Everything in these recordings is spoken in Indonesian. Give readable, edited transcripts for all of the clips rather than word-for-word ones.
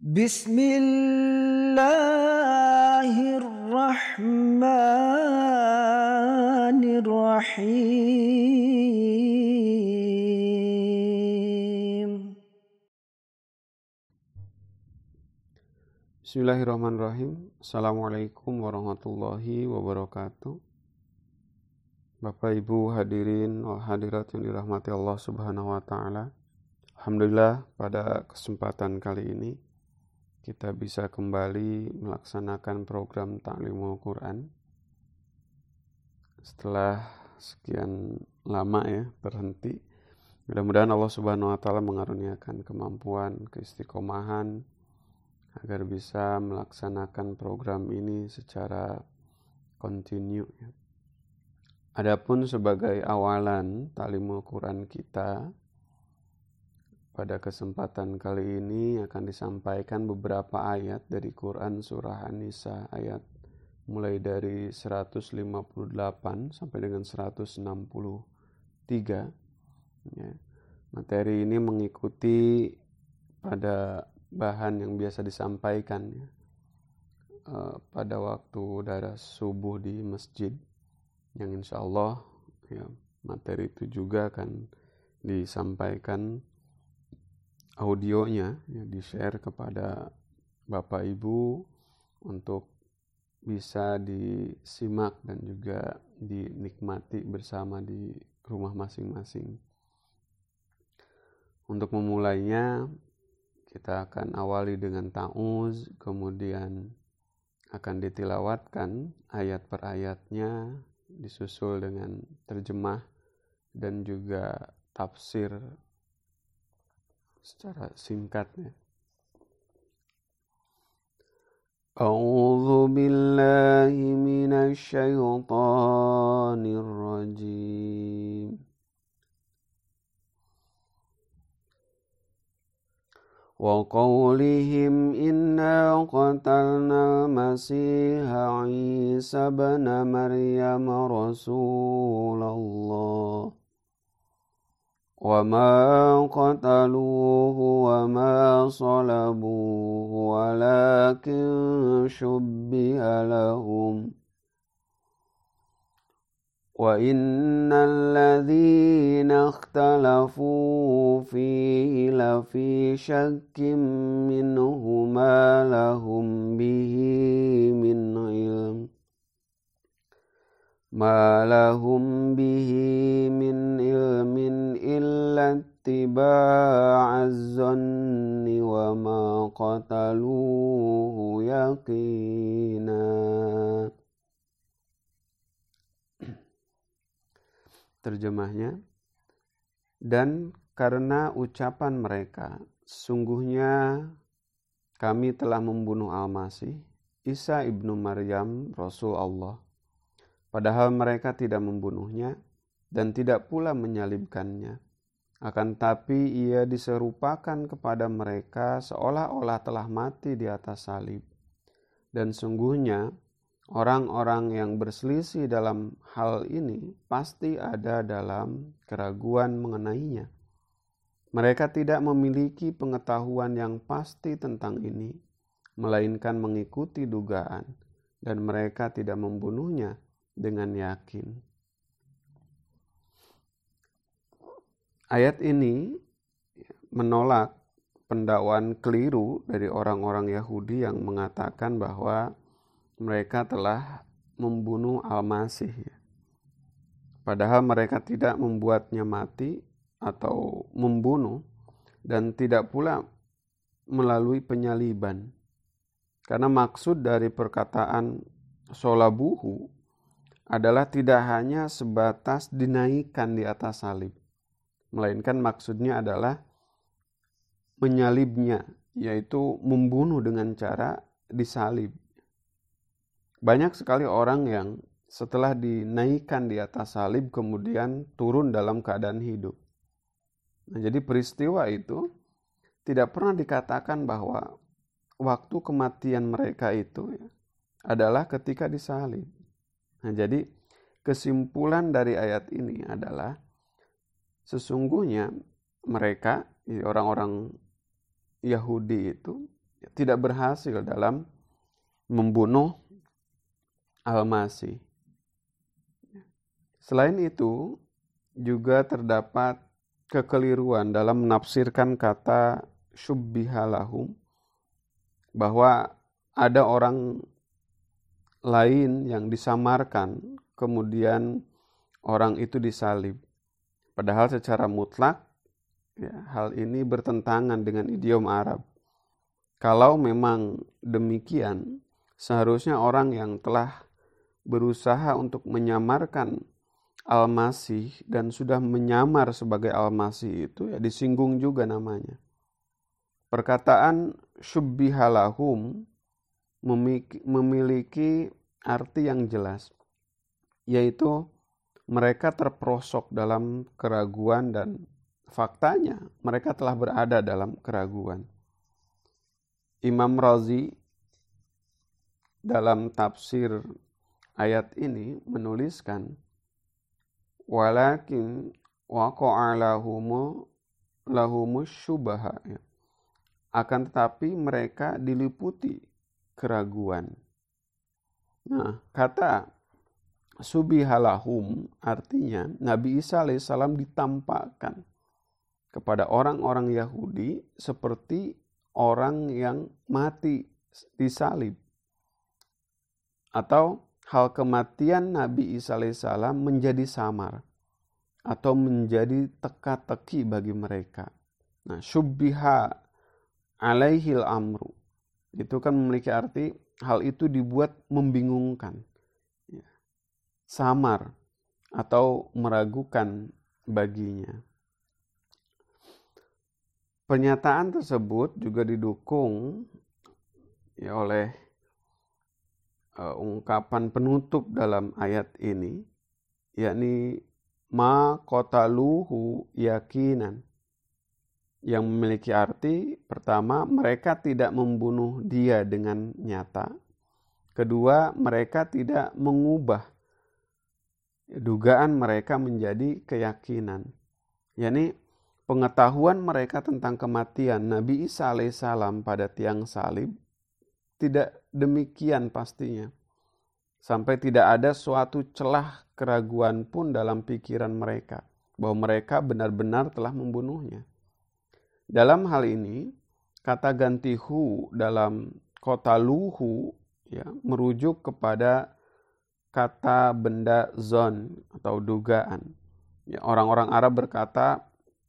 Bismillahirrahmanirrahim. Bismillahirrahmanirrahim. Assalamualaikum warahmatullahi wabarakatuh. Bapak Ibu hadirin hadirat yang dirahmati Allah Subhanahu wa taala. Alhamdulillah pada kesempatan kali ini kita bisa kembali melaksanakan program Ta'limul Quran. Setelah sekian lama berhenti. Mudah-mudahan Allah Subhanahu wa taala mengaruniakan kemampuan, keistiqomahan agar bisa melaksanakan program ini secara kontinu. Adapun sebagai awalan Ta'limul Quran kita, pada kesempatan kali ini akan disampaikan beberapa ayat dari Quran surah An-Nisa, ayat mulai dari 158 sampai dengan 163. Materi ini mengikuti pada bahan yang biasa disampaikan pada waktu daras subuh di masjid, yang insya Allah materi itu juga akan disampaikan audionya, di-share kepada Bapak Ibu untuk bisa disimak dan juga dinikmati bersama di rumah masing-masing. Untuk memulainya, kita akan awali dengan ta'uz, kemudian akan ditilawatkan ayat per ayatnya, disusul dengan terjemah dan juga tafsir secara singkatnya. A'udzu billahi minasy syaithanir rajim. Wa qawlihim inna qatalna al-masiha Isa ibn Maryam Rasulullah wa ma qataluhu wa ma salabuhu walakin shubbiha lahum wa innal ladzina ikhtalafu fihi lafi syakkim minhu ma lahum bihi min ilm illa ittiba'az zanni wa ma qataluhu yaqina. Terjemahnya, dan karena ucapan mereka, sungguhnya kami telah membunuh Al-Masih, Isa ibnu Maryam, Rasul Allah. Padahal mereka tidak membunuhnya dan tidak pula menyalibkannya. Akan tapi ia diserupakan kepada mereka seolah-olah telah mati di atas salib. Dan sungguhnya orang-orang yang berselisih dalam hal ini pasti ada dalam keraguan mengenainya. Mereka tidak memiliki pengetahuan yang pasti tentang ini, melainkan mengikuti dugaan, dan mereka tidak membunuhnya dengan yakin. Ayat ini menolak pendakwaan keliru dari orang-orang Yahudi yang mengatakan bahwa mereka telah membunuh Al-Masih. Padahal mereka tidak membuatnya mati atau membunuh dan tidak pula melalui penyaliban. Karena maksud dari perkataan solabuhu adalah tidak hanya sebatas dinaikkan di atas salib, melainkan maksudnya adalah menyalibnya, yaitu membunuh dengan cara disalib. Banyak sekali orang yang setelah dinaikkan di atas salib kemudian turun dalam keadaan hidup. Nah, jadi peristiwa itu tidak pernah dikatakan bahwa waktu kematian mereka itu adalah ketika disalib. Nah, jadi kesimpulan dari ayat ini adalah sesungguhnya mereka, orang-orang Yahudi itu tidak berhasil dalam membunuh Al-Masih. Selain itu, juga terdapat kekeliruan dalam menafsirkan kata syubbihalahum, bahwa ada orang lain yang disamarkan, kemudian orang itu disalib. Padahal secara mutlak, hal ini bertentangan dengan idiom Arab. Kalau memang demikian, seharusnya orang yang telah berusaha untuk menyamarkan Al-Masih dan sudah menyamar sebagai Al-Masih itu disinggung juga namanya. Perkataan syubbihalahum memiliki arti yang jelas, yaitu mereka terperosok dalam keraguan dan faktanya mereka telah berada dalam keraguan. Imam Razi dalam tafsir ayat ini menuliskan, walakin waqa'a lahumus syubaha, akan tetapi mereka diliputi keraguan. Nah, kata subihalahum artinya Nabi Isa alaihissalam ditampakkan kepada orang-orang Yahudi seperti orang yang mati disalib, atau hal kematian Nabi Isa alaihissalam menjadi samar atau menjadi teka-teki bagi mereka. Nah, syubbiha alaihil amru itu kan memiliki arti hal itu dibuat membingungkan, samar atau meragukan baginya. Pernyataan tersebut juga didukung oleh ungkapan penutup dalam ayat ini, yakni ma qataluhu yakinan, yang memiliki arti pertama, mereka tidak membunuh dia dengan nyata. Kedua, mereka tidak mengubah dugaan mereka menjadi keyakinan, yakni pengetahuan mereka tentang kematian Nabi Isa alaihissalam pada tiang salib tidak demikian pastinya, sampai tidak ada suatu celah keraguan pun dalam pikiran mereka bahwa mereka benar-benar telah membunuhnya. Dalam hal ini, kata ganti hu dalam qataluhu merujuk kepada kata benda zon atau dugaan. Orang-orang Arab berkata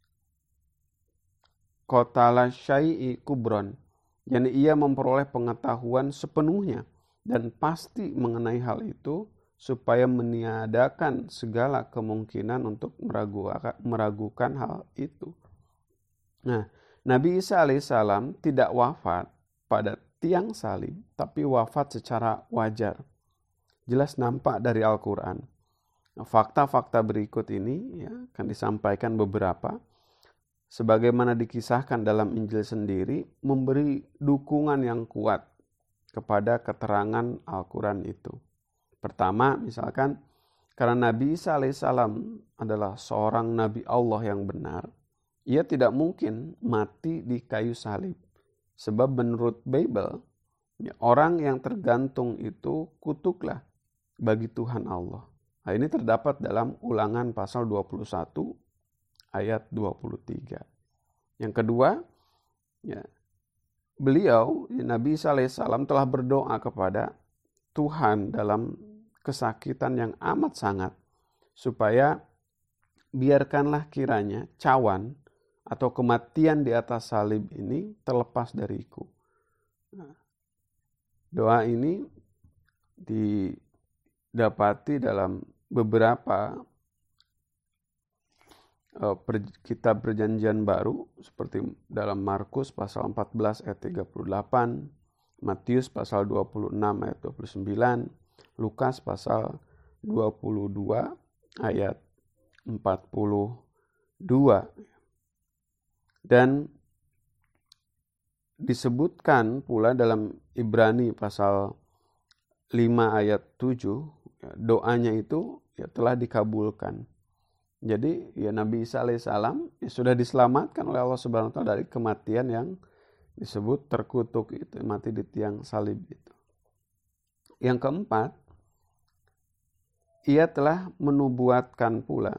qatala syai'i kubron, yakni ia memperoleh pengetahuan sepenuhnya dan pasti mengenai hal itu supaya meniadakan segala kemungkinan untuk meragukan hal itu. Nah, Nabi Isa alaihissalam tidak wafat pada tiang salib, tapi wafat secara wajar. Jelas nampak dari Al-Quran. Nah, fakta-fakta berikut ini akan disampaikan beberapa. Sebagaimana dikisahkan dalam Injil sendiri, memberi dukungan yang kuat kepada keterangan Al-Quran itu. Pertama, misalkan, karena Nabi Isa alaihissalam adalah seorang Nabi Allah yang benar, ia tidak mungkin mati di kayu salib. Sebab menurut Bible, orang yang tergantung itu kutuklah bagi Tuhan Allah. Nah, ini terdapat dalam Ulangan pasal 21 ayat 23. Yang kedua, beliau, Nabi Isa alaihissalam telah berdoa kepada Tuhan dalam kesakitan yang amat sangat, supaya biarkanlah kiranya cawan atau kematian di atas salib ini terlepas dariku. Doa ini didapati dalam beberapa kitab Perjanjian Baru, seperti dalam Markus pasal 14 ayat 38, Matius pasal 26 ayat 29, Lukas pasal 22 ayat 42. Dan disebutkan pula dalam Ibrani pasal 5 ayat 7, doanya itu telah dikabulkan. Jadi Nabi Isa alaihissalam sudah diselamatkan oleh Allah Subhanahu wa taala dari kematian yang disebut terkutuk itu, mati di tiang salib itu. Yang keempat, ia telah menubuatkan pula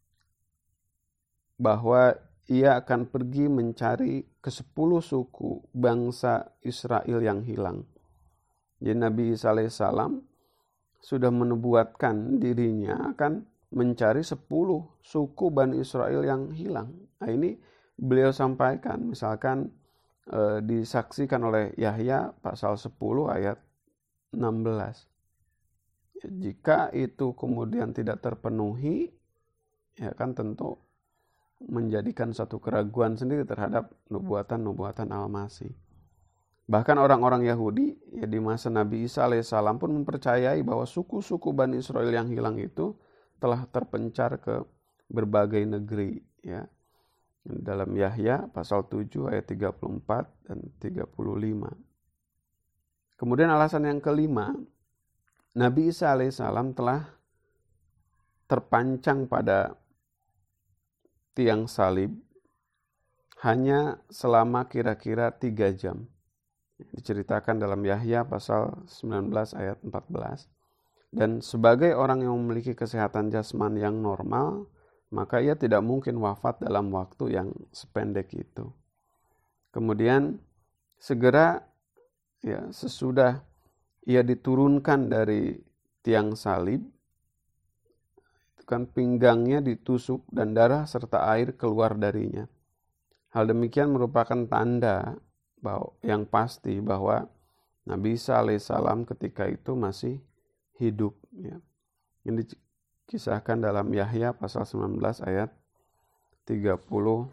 bahwa ia akan pergi mencari ke-10 suku bangsa Israel yang hilang. Jadi Nabi Isa alaihissalam sudah menubuatkan dirinya akan mencari 10 suku Bani Israel yang hilang. Nah, ini beliau sampaikan, misalkan disaksikan oleh Yahya pasal 10 ayat 16. Jika itu kemudian tidak terpenuhi, ya kan tentu menjadikan satu keraguan sendiri terhadap nubuatan-nubuatan Al-Masih. Bahkan orang-orang Yahudi ya di masa Nabi Isa alaihissalam pun mempercayai bahwa suku-suku Bani Israel yang hilang itu telah terpencar ke berbagai negeri, ya. Dalam Yahya pasal 7 ayat 34 dan 35. Kemudian alasan yang kelima, Nabi Isa alaihissalam telah terpancang pada tiang salib hanya selama kira-kira 3 jam. Diceritakan dalam Yahya pasal 19 ayat 14. Dan sebagai orang yang memiliki kesehatan jasmani yang normal, maka ia tidak mungkin wafat dalam waktu yang sependek itu. Kemudian segera ya sesudah ia diturunkan dari tiang salib, itu kan pinggangnya ditusuk dan darah serta air keluar darinya. Hal demikian merupakan tanda yang pasti bahwa Nabi Isa alaihissalam ketika itu masih hidup, ya. Ini kisahkan dalam Yahya pasal 19 ayat 34.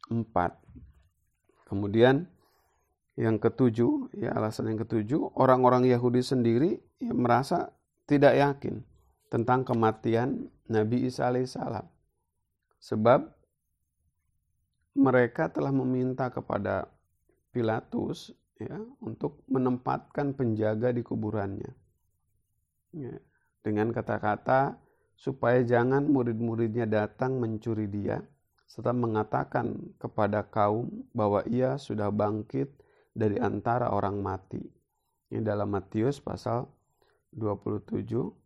Kemudian yang ketujuh, ya alasan yang ketujuh, orang-orang Yahudi sendiri ya, merasa tidak yakin tentang kematian Nabi Isa alaihissalam. Sebab mereka telah meminta kepada Pilatus ya, untuk menempatkan penjaga di kuburannya. Ya, dengan kata-kata supaya jangan murid-muridnya datang mencuri dia, serta mengatakan kepada kaum bahwa ia sudah bangkit dari antara orang mati. Ini dalam Matius pasal 27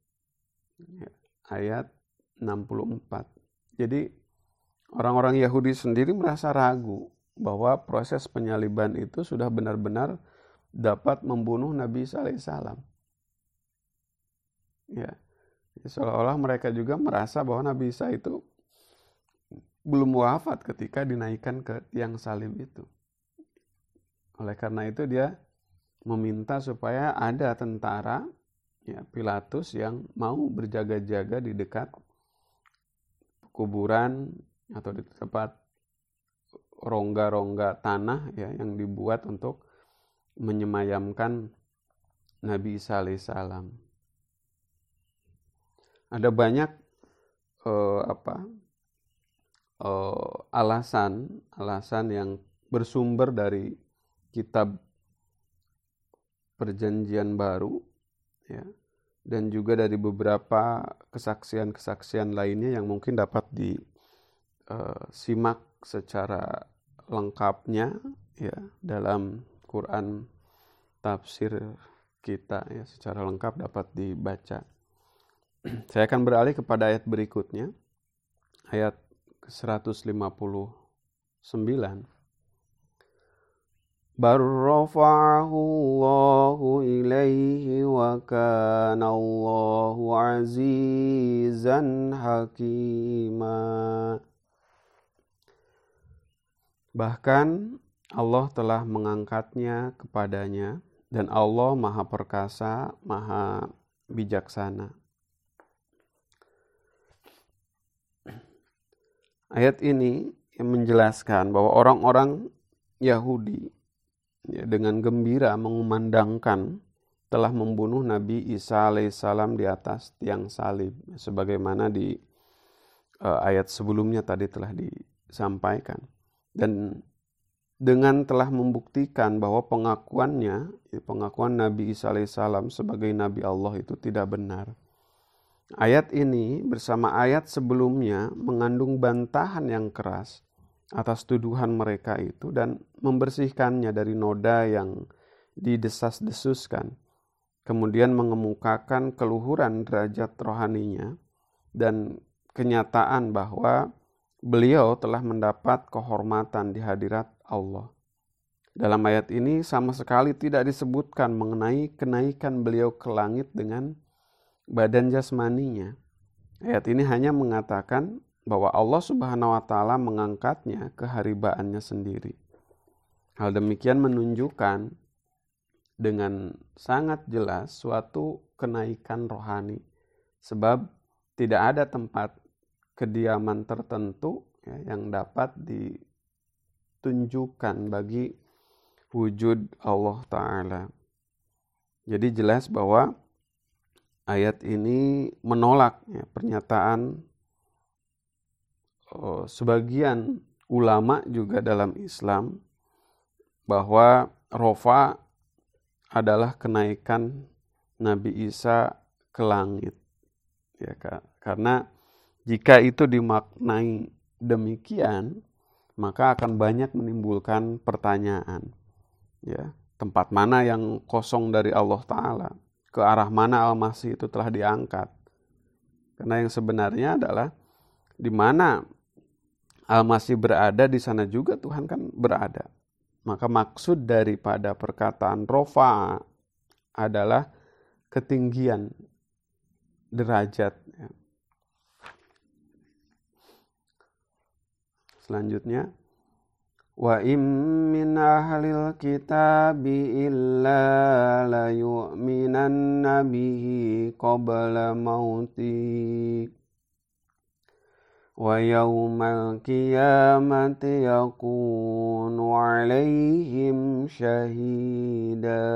ayat 64. Jadi orang-orang Yahudi sendiri merasa ragu bahwa proses penyaliban itu sudah benar-benar dapat membunuh Nabi Isa alaihissalam. Ya. Seolah-olah mereka juga merasa bahwa Nabi Isa itu belum wafat ketika dinaikkan ke tiang salib itu. Oleh karena itu dia meminta supaya ada tentara, ya, Pilatus yang mau berjaga-jaga di dekat kuburan atau di tempat rongga-rongga tanah ya, yang dibuat untuk menyemayamkan Nabi Isa alaihissalam. Ada banyak alasan yang bersumber dari kitab Perjanjian Baru, ya, dan juga dari beberapa kesaksian-kesaksian lainnya yang mungkin dapat disimak secara lengkapnya ya dalam Quran tafsir kita ya, secara lengkap dapat dibaca. Saya akan beralih kepada ayat berikutnya, ayat ke-159. Barrafa'ahu Allahu ilaihi wa kana Allahu azizan hakima. Bahkan Allah telah mengangkatnya kepadanya dan Allah Maha Perkasa, Maha Bijaksana. Ayat ini yang menjelaskan bahwa orang-orang Yahudi ya, dengan gembira mengumandangkan telah membunuh Nabi Isa alaihissalam di atas tiang salib, sebagaimana di ayat sebelumnya tadi telah disampaikan. Dan dengan telah membuktikan bahwa pengakuan Nabi Isa alaihissalam sebagai Nabi Allah itu tidak benar. Ayat ini bersama ayat sebelumnya mengandung bantahan yang keras atas tuduhan mereka itu dan membersihkannya dari noda yang didesas-desuskan. Kemudian mengemukakan keluhuran derajat rohaninya dan kenyataan bahwa beliau telah mendapat kehormatan di hadirat Allah. Dalam ayat ini sama sekali tidak disebutkan mengenai kenaikan beliau ke langit dengan badan jasmaninya. Ayat ini hanya mengatakan bahwa Allah Subhanahu wa Ta'ala mengangkatnya ke haribaannya sendiri. Hal demikian menunjukkan dengan sangat jelas suatu kenaikan rohani, sebab tidak ada tempat kediaman tertentu yang dapat ditunjukkan bagi wujud Allah Ta'ala. Jadi jelas bahwa ayat ini menolak pernyataan sebagian ulama juga dalam Islam bahwa rofa adalah kenaikan Nabi Isa ke langit. Ya, karena jika itu dimaknai demikian, maka akan banyak menimbulkan pertanyaan. Ya, tempat mana yang kosong dari Allah Ta'ala? Ke arah mana Al-Masih itu telah diangkat? Karena yang sebenarnya adalah di mana Al-Masih berada, di sana juga Tuhan kan berada. Maka maksud daripada perkataan rofa adalah ketinggian derajat. Selanjutnya, wa im min ahlil kitabi illa la yu'minanna bihi qabla mauti wa yawmal qiyamati yakunu alaihim syahida.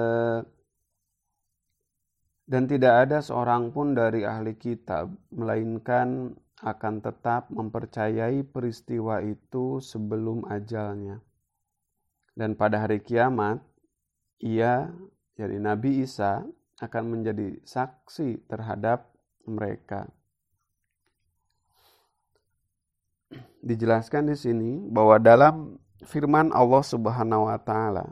Dan tidak ada seorang pun dari ahli kitab melainkan akan tetap mempercayai peristiwa itu sebelum ajalnya. Dan pada hari kiamat, ia, jadi Nabi Isa, akan menjadi saksi terhadap mereka. Dijelaskan di sini bahwa dalam firman Allah Subhanahu wa Ta'ala,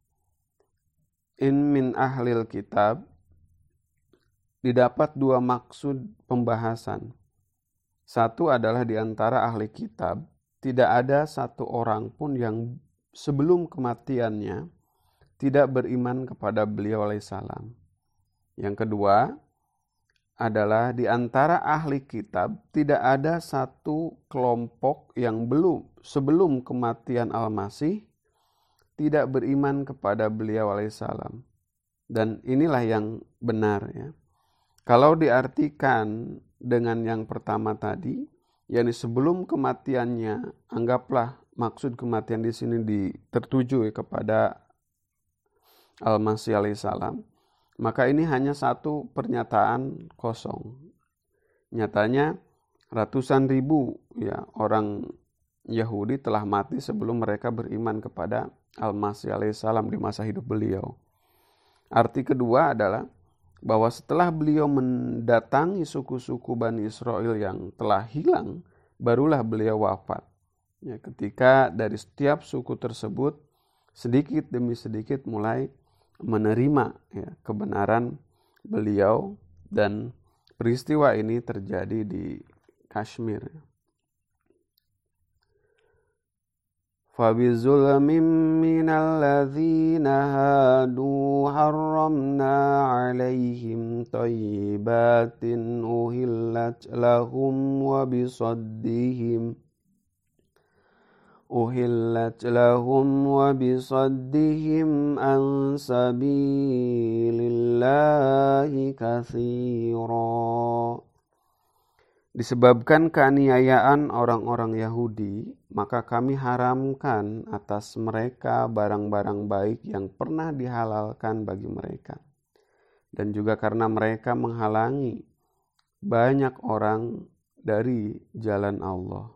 in min ahlil kitab, didapat dua maksud pembahasan. Satu adalah di antara ahli kitab, tidak ada satu orang pun yang sebelum kematiannya tidak beriman kepada beliau alaihissalam. Yang kedua adalah di antara ahli kitab tidak ada satu kelompok yang sebelum kematian Al-Masih tidak beriman kepada beliau alaihissalam. Dan inilah yang benar ya. Kalau diartikan dengan yang pertama tadi, yakni sebelum kematiannya, anggaplah maksud kematian di sini tertuju kepada Al-Masih alaihissalam, maka ini hanya satu pernyataan kosong. Nyatanya ratusan ribu orang Yahudi telah mati sebelum mereka beriman kepada Al-Masih alaihissalam di masa hidup beliau. Arti kedua adalah bahwa setelah beliau mendatangi suku-suku Bani Israel yang telah hilang, barulah beliau wafat. Ya, ketika dari setiap suku tersebut sedikit demi sedikit mulai menerima kebenaran beliau, dan peristiwa ini terjadi di Kashmir. فَبِظُلْمٍ مِّنَ الَّذِينَ هَادُوا حَرَّمْنَا عَلَيْهِمْ طَيِّبَاتٍ أُحِلَّتْ لَهُمْ وَبِصَدِّهِمْ عَنْ سَبِيلِ اللَّهِ كَثِيرًا. Disebabkan keaniayaan orang-orang Yahudi, maka kami haramkan atas mereka barang-barang baik yang pernah dihalalkan bagi mereka. Dan juga karena mereka menghalangi banyak orang dari jalan Allah.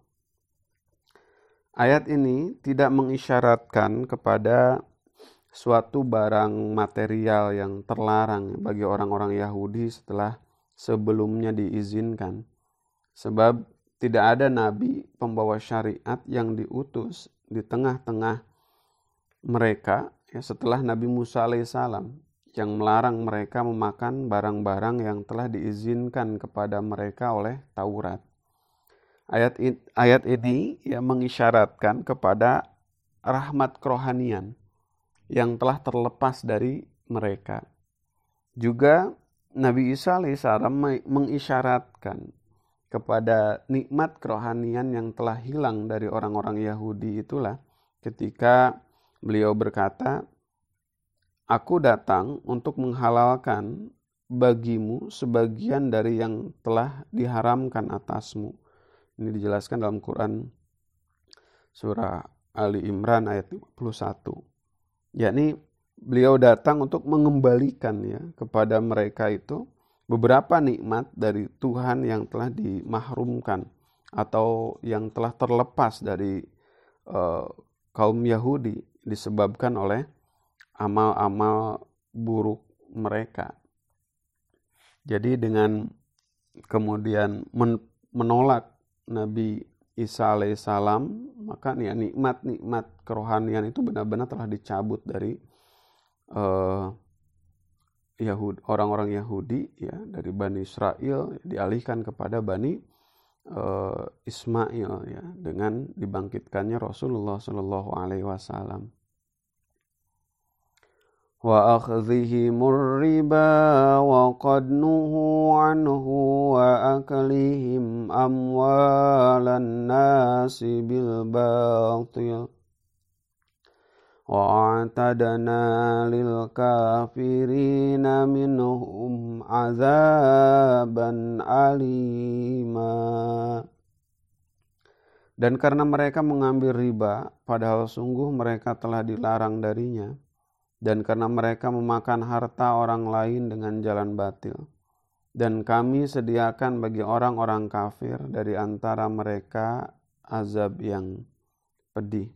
Ayat ini tidak mengisyaratkan kepada suatu barang material yang terlarang bagi orang-orang Yahudi setelah sebelumnya diizinkan. Sebab tidak ada nabi pembawa syariat yang diutus di tengah-tengah mereka ya, setelah Nabi Musa alaihissalam yang melarang mereka memakan barang-barang yang telah diizinkan kepada mereka oleh Taurat. Ayat ini ya mengisyaratkan kepada rahmat kerohanian yang telah terlepas dari mereka. Juga Nabi Isa alaihissalam mengisyaratkan kepada nikmat kerohanian yang telah hilang dari orang-orang Yahudi itulah ketika beliau berkata, "Aku datang untuk menghalalkan bagimu sebagian dari yang telah diharamkan atasmu." Ini dijelaskan dalam Quran surah Ali Imran ayat 51. Yakni beliau datang untuk mengembalikan ya kepada mereka itu beberapa nikmat dari Tuhan yang telah dimahrumkan atau yang telah terlepas dari kaum Yahudi disebabkan oleh amal-amal buruk mereka. Jadi dengan kemudian menolak Nabi Isa alaihissalam, maka ya, nikmat-nikmat kerohanian itu benar-benar telah dicabut dari orang-orang Yahudi ya, dari Bani Israel dialihkan kepada Bani Ismail ya, dengan dibangkitkannya Rasulullah Shallallahu Alaihi Wasallam. Wa akhdhihimur riba wa qad nuhu anhu wa aklihim amwalan nasi bil batil wa a'tadna lil kafirina minhum azaban alima. Dan karena mereka mengambil riba padahal sungguh mereka telah dilarang darinya, dan karena mereka memakan harta orang lain dengan jalan batil. Dan kami sediakan bagi orang-orang kafir dari antara mereka azab yang pedih.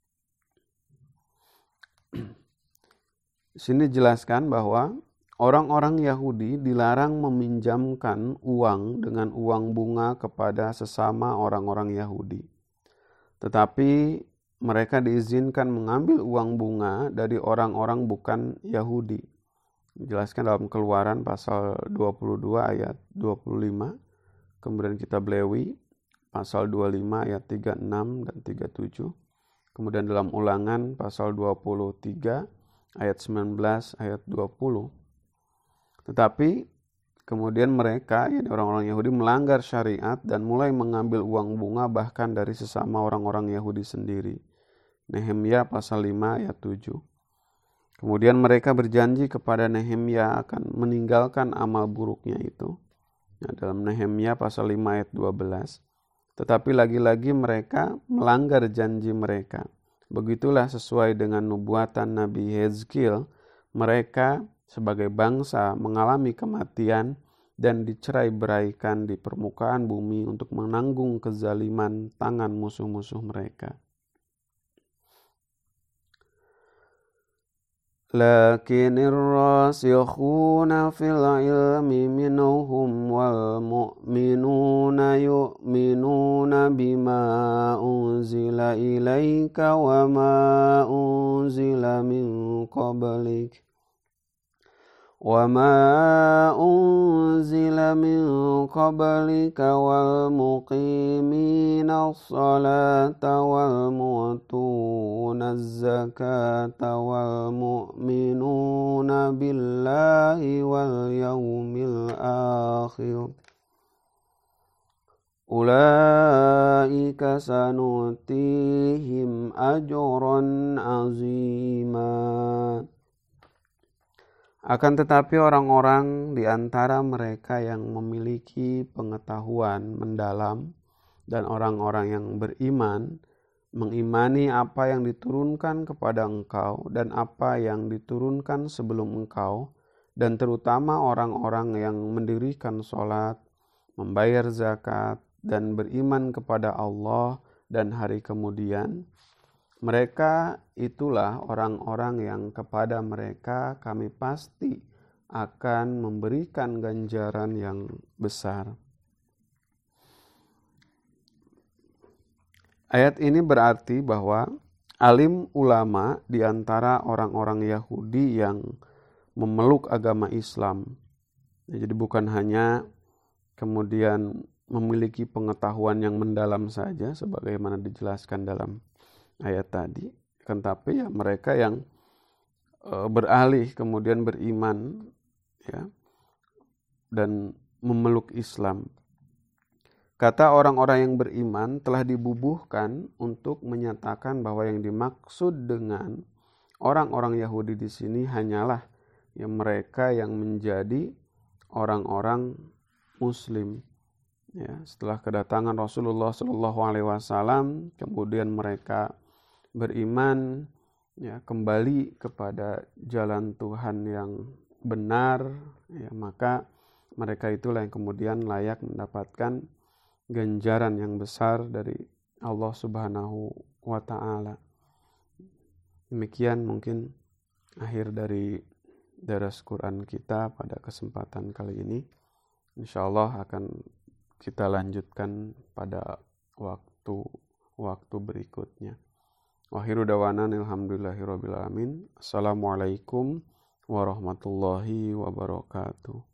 Sini jelaskan bahwa orang-orang Yahudi dilarang meminjamkan uang dengan uang bunga kepada sesama orang-orang Yahudi. Tetapi mereka diizinkan mengambil uang bunga dari orang-orang bukan Yahudi. Dijelaskan dalam Keluaran pasal 22 ayat 25. Kemudian Kitab Lewi pasal 25 ayat 36 dan 37. Kemudian dalam Ulangan pasal 23 ayat 19 ayat 20. Tetapi kemudian mereka, ya, orang-orang Yahudi melanggar syariat dan mulai mengambil uang bunga bahkan dari sesama orang-orang Yahudi sendiri. Nehemia pasal 5 ayat 7. Kemudian mereka berjanji kepada Nehemia akan meninggalkan amal buruknya itu. Nah, dalam Nehemia pasal 5 ayat 12. Tetapi lagi-lagi mereka melanggar janji mereka. Begitulah sesuai dengan nubuatan Nabi Hezkiel, mereka sebagai bangsa mengalami kematian dan dicerai-beraikan di permukaan bumi untuk menanggung kezaliman tangan musuh-musuh mereka. Lakinir rasikhuna fil ilmi minhum wal mu'minuna yu'minuna bima unzila ilaika wa ma unzila min qablik وما أنزل من قبلك والمقيمين الصلاة والمؤتون الزكاة والمؤمنون بالله واليوم الآخر أولئك سنؤتيهم أجرا عظيما. Akan tetapi orang-orang di antara mereka yang memiliki pengetahuan mendalam dan orang-orang yang beriman mengimani apa yang diturunkan kepada engkau dan apa yang diturunkan sebelum engkau, dan terutama orang-orang yang mendirikan sholat, membayar zakat, dan beriman kepada Allah dan hari kemudian. Mereka itulah orang-orang yang kepada mereka kami pasti akan memberikan ganjaran yang besar. Ayat ini berarti bahwa alim ulama di antara orang-orang Yahudi yang memeluk agama Islam, jadi bukan hanya kemudian memiliki pengetahuan yang mendalam saja sebagaimana dijelaskan dalam ayat tadi, kan, tapi ya mereka yang beralih kemudian beriman, ya, dan memeluk Islam. Kata orang-orang yang beriman telah dibubuhkan untuk menyatakan bahwa yang dimaksud dengan orang-orang Yahudi di sini hanyalah yang mereka yang menjadi orang-orang Muslim. Ya, setelah kedatangan Rasulullah SAW, kemudian mereka beriman, ya, kembali kepada jalan Tuhan yang benar, ya, maka mereka itulah yang kemudian layak mendapatkan ganjaran yang besar dari Allah Subhanahu wa Ta'ala. Demikian mungkin akhir dari daras Quran kita pada kesempatan kali ini. Insyaallah akan kita lanjutkan pada waktu berikutnya. Wa akhiru dawana alhamdulillahirabbil alamin. Assalamualaikum warahmatullahi wabarakatuh.